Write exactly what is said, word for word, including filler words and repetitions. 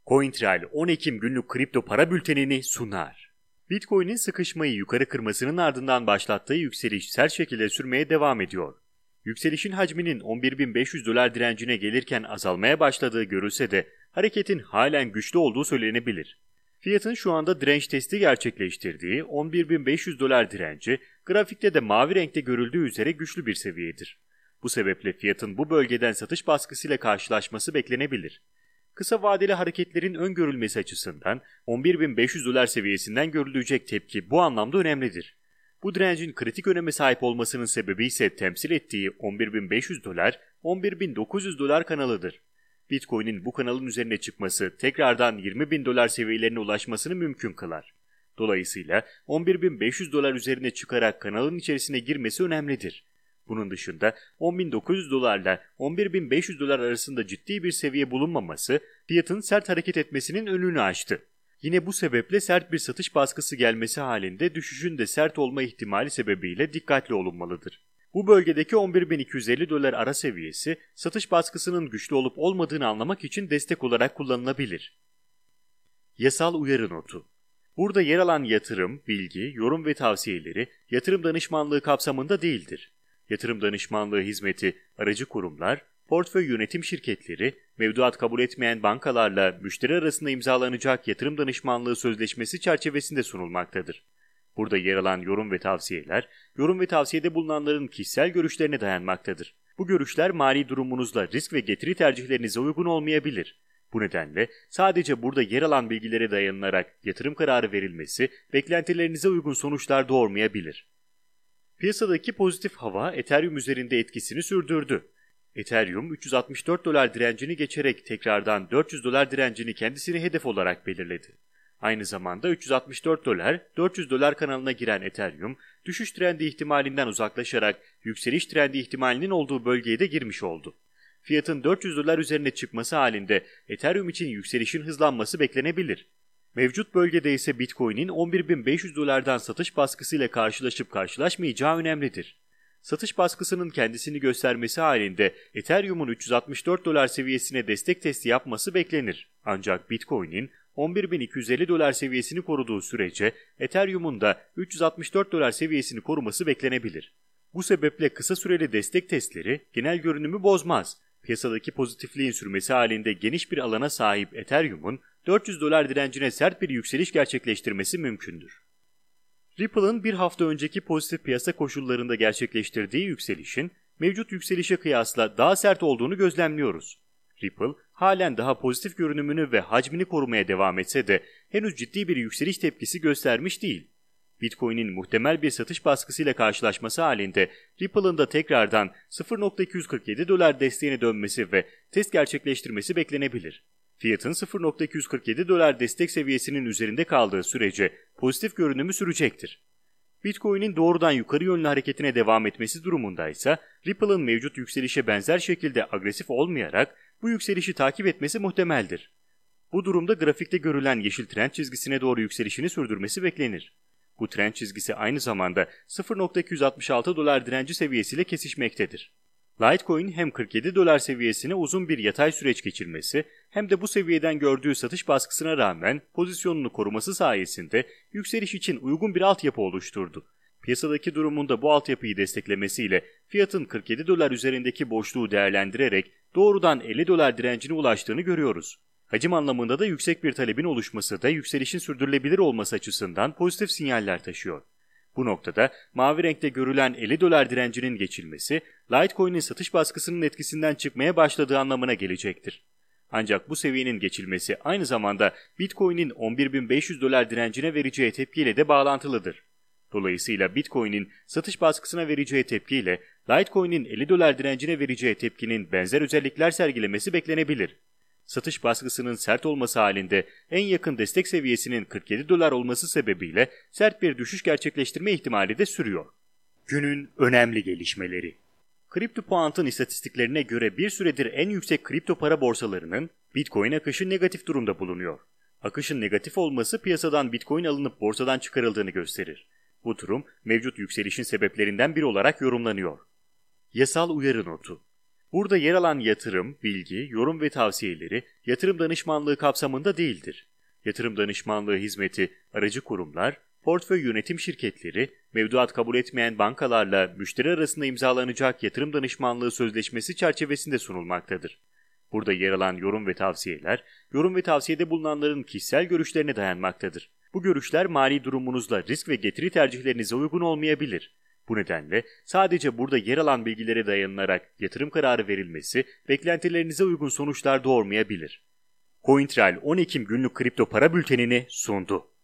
CoinTrail on Ekim günlük kripto para bültenini sunar. Bitcoin'in sıkışmayı yukarı kırmasının ardından başlattığı yükseliş sert şekilde sürmeye devam ediyor. Yükselişin hacminin on bir bin beş yüz dolar direncine gelirken azalmaya başladığı görülse de hareketin halen güçlü olduğu söylenebilir. Fiyatın şu anda direnç testi gerçekleştirdiği on bir bin beş yüz dolar direnci, grafikte de mavi renkte görüldüğü üzere güçlü bir seviyedir. Bu sebeple fiyatın bu bölgeden satış baskısıyla karşılaşması beklenebilir. Kısa vadeli hareketlerin öngörülmesi açısından on bir bin beş yüz dolar seviyesinden görülecek tepki bu anlamda önemlidir. Bu direncin kritik öneme sahip olmasının sebebi ise temsil ettiği on bir bin beş yüz dolar, on bir bin dokuz yüz dolar kanalıdır. Bitcoin'in bu kanalın üzerine çıkması tekrardan yirmi bin dolar seviyelerine ulaşmasını mümkün kılar. Dolayısıyla on bir bin beş yüz dolar üzerine çıkarak kanalın içerisine girmesi önemlidir. Bunun dışında on bin dokuz yüz dolarla on bir bin beş yüz dolar arasında ciddi bir seviye bulunmaması fiyatın sert hareket etmesinin önünü açtı. Yine bu sebeple sert bir satış baskısı gelmesi halinde düşüşün de sert olma ihtimali sebebiyle dikkatli olunmalıdır. Bu bölgedeki on bir bin iki yüz elli dolar ara seviyesi satış baskısının güçlü olup olmadığını anlamak için destek olarak kullanılabilir. Yasal uyarı notu. Burada yer alan yatırım, bilgi, yorum ve tavsiyeleri yatırım danışmanlığı kapsamında değildir. Yatırım danışmanlığı hizmeti aracı kurumlar, portföy yönetim şirketleri, mevduat kabul etmeyen bankalarla müşteri arasında imzalanacak yatırım danışmanlığı sözleşmesi çerçevesinde sunulmaktadır. Burada yer alan yorum ve tavsiyeler, yorum ve tavsiyede bulunanların kişisel görüşlerine dayanmaktadır. Bu görüşler mali durumunuzla risk ve getiri tercihlerinize uygun olmayabilir. Bu nedenle sadece burada yer alan bilgilere dayanılarak yatırım kararı verilmesi beklentilerinize uygun sonuçlar doğurmayabilir. Piyasadaki pozitif hava Ethereum üzerinde etkisini sürdürdü. Ethereum üç yüz altmış dört dolar direncini geçerek tekrardan dört yüz dolar direncini kendisine hedef olarak belirledi. Aynı zamanda üç yüz altmış dört dolar, dört yüz dolar kanalına giren Ethereum, düşüş trendi ihtimalinden uzaklaşarak yükseliş trendi ihtimalinin olduğu bölgeye de girmiş oldu. Fiyatın dört yüz dolar üzerine çıkması halinde Ethereum için yükselişin hızlanması beklenebilir. Mevcut bölgede ise Bitcoin'in on bir bin beş yüz dolardan satış baskısıyla karşılaşıp karşılaşmayacağı önemlidir. Satış baskısının kendisini göstermesi halinde Ethereum'un üç yüz altmış dört dolar seviyesine destek testi yapması beklenir. Ancak Bitcoin'in on bir bin iki yüz elli dolar seviyesini koruduğu sürece Ethereum'un da üç yüz altmış dört dolar seviyesini koruması beklenebilir. Bu sebeple kısa süreli destek testleri genel görünümü bozmaz. Piyasadaki pozitifliğin sürmesi halinde geniş bir alana sahip Ethereum'un dört yüz dolar direncine sert bir yükseliş gerçekleştirmesi mümkündür. Ripple'ın bir hafta önceki pozitif piyasa koşullarında gerçekleştirdiği yükselişin mevcut yükselişe kıyasla daha sert olduğunu gözlemliyoruz. Ripple halen daha pozitif görünümünü ve hacmini korumaya devam etse de henüz ciddi bir yükseliş tepkisi göstermiş değil. Bitcoin'in muhtemel bir satış baskısıyla karşılaşması halinde Ripple'ın da tekrardan sıfır nokta iki yüz kırk yedi dolar desteğine dönmesi ve test gerçekleştirmesi beklenebilir. Fiyatın sıfır nokta iki yüz kırk yedi dolar destek seviyesinin üzerinde kaldığı sürece pozitif görünümü sürecektir. Bitcoin'in doğrudan yukarı yönlü hareketine devam etmesi durumundaysa Ripple'ın mevcut yükselişe benzer şekilde agresif olmayarak bu yükselişi takip etmesi muhtemeldir. Bu durumda grafikte görülen yeşil trend çizgisine doğru yükselişini sürdürmesi beklenir. Bu trend çizgisi aynı zamanda sıfır nokta iki yüz altmış altı dolar direnci seviyesiyle kesişmektedir. Litecoin hem kırk yedi dolar seviyesine uzun bir yatay süreç geçirmesi hem de bu seviyeden gördüğü satış baskısına rağmen pozisyonunu koruması sayesinde yükseliş için uygun bir altyapı oluşturdu. Piyasadaki durumunda bu altyapıyı desteklemesiyle fiyatın kırk yedi dolar üzerindeki boşluğu değerlendirerek doğrudan elli dolar direncine ulaştığını görüyoruz. Hacim anlamında da yüksek bir talebin oluşması da yükselişin sürdürülebilir olması açısından pozitif sinyaller taşıyor. Bu noktada mavi renkte görülen elli dolar direncinin geçilmesi, Litecoin'in satış baskısının etkisinden çıkmaya başladığı anlamına gelecektir. Ancak bu seviyenin geçilmesi aynı zamanda Bitcoin'in on bir bin beş yüz dolar direncine vereceği tepkiyle de bağlantılıdır. Dolayısıyla Bitcoin'in satış baskısına vereceği tepkiyle Litecoin'in elli dolar direncine vereceği tepkinin benzer özellikler sergilemesi beklenebilir. Satış baskısının sert olması halinde en yakın destek seviyesinin kırk yedi dolar olması sebebiyle sert bir düşüş gerçekleştirme ihtimali de sürüyor. Günün önemli gelişmeleri. CryptoPoint'ın istatistiklerine göre bir süredir en yüksek kripto para borsalarının Bitcoin akışı negatif durumda bulunuyor. Akışın negatif olması piyasadan Bitcoin alınıp borsadan çıkarıldığını gösterir. Bu durum mevcut yükselişin sebeplerinden biri olarak yorumlanıyor. Yasal uyarı notu. Burada yer alan yatırım, bilgi, yorum ve tavsiyeleri yatırım danışmanlığı kapsamında değildir. Yatırım danışmanlığı hizmeti aracı kurumlar, portföy yönetim şirketleri, mevduat kabul etmeyen bankalarla müşteri arasında imzalanacak yatırım danışmanlığı sözleşmesi çerçevesinde sunulmaktadır. Burada yer alan yorum ve tavsiyeler, yorum ve tavsiyede bulunanların kişisel görüşlerine dayanmaktadır. Bu görüşler mali durumunuzla risk ve getiri tercihlerinize uygun olmayabilir. Bu nedenle sadece burada yer alan bilgilere dayanılarak yatırım kararı verilmesi beklentilerinize uygun sonuçlar doğurmayabilir. CoinTrail on Ekim günlük kripto para bültenini sundu.